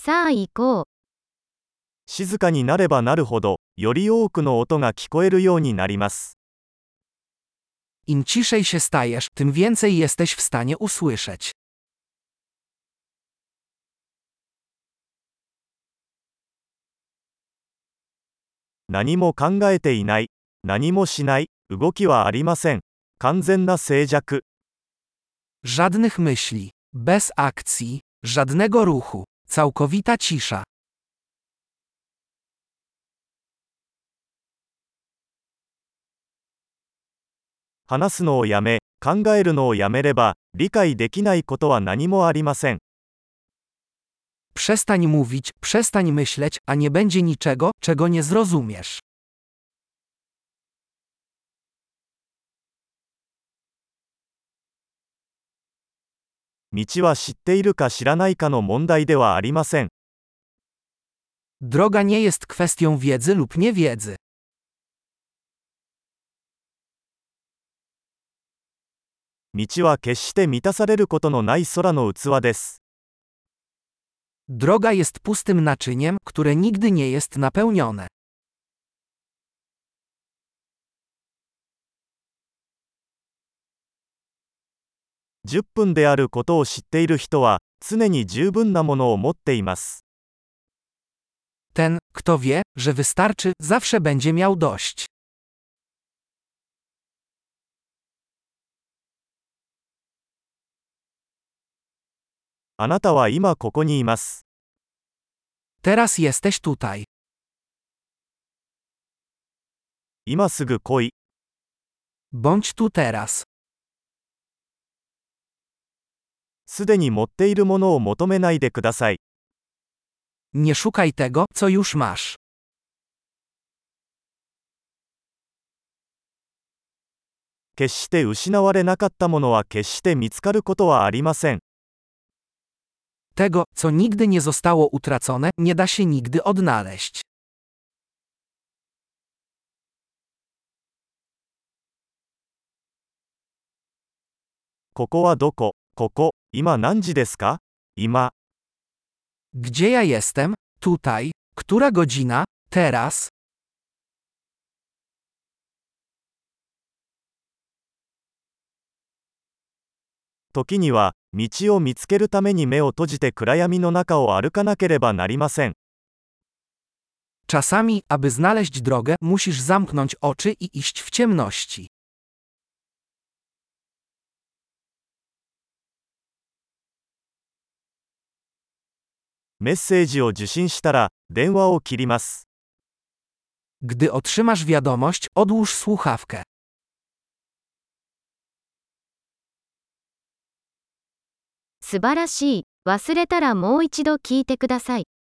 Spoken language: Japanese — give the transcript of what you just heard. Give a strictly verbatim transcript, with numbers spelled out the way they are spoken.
さあ行こう。 静かになればなるほど、より多くの音が聞こえるようになります。 Im ciszej się stajesz, tym więcej jesteś w stanie usłyszeć. 何も考えていない、何もしない、動きはありません。完全な静寂。 Żadnych myśli, bez akcji, żadnego ruchu, całkowita cisza. 話すのをやめ、考えるのをやめれば、理解できないことは何もありません。 Przestań mówić, przestań myśleć, a nie będzie niczego, czego nie zrozumiesz. 道は知っているか知らないかの問題ではありません。 Droga nie jest kwestią wiedzy lub niewiedzy. 道は決して満たされることのない空の器です。 Droga jest pustym naczyniem, które nigdy nie jest napełnione. じゅっぷんであることを知っている人は、常に十分なものを持っています。 Ten, kto wie, że wystarczy, zawsze będzie miał dość. あなたは今ここにいます。 Teraz jesteś tutaj. 今すぐ来い。 Bądź tu teraz. すでに持っているものを求めないでください。 Nie szukaj tego, co już masz. 決して失われなかったものは決して見つかることはありません。 Tego, co nigdy nie zostało utracone, nie da się nigdy odnaleźć. ここはどこ？ここ、今何時ですか？今。 Gdzie ja jestem? Tutaj. Która godzina? Teraz. 時には、道を見つけるために目を閉じて暗闇の中を歩かなければなりません。 Czasami, aby znaleźć drogę, musisz zamknąć oczy i iść w ciemności. メッセージを受信したら、電話を切ります。 Gdy otrzymasz wiadomość, odłóż słuchawkę. 素晴らしい。忘れたらもう一度聞いてください。